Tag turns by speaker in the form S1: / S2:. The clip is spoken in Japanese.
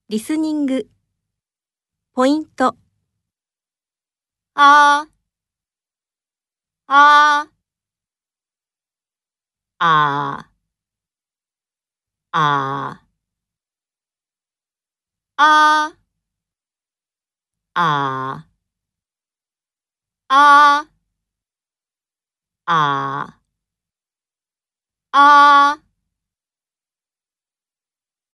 S1: リスニング、ポイント、
S2: あー、あー、あー、あー、あー、あー、あー、あー、あー。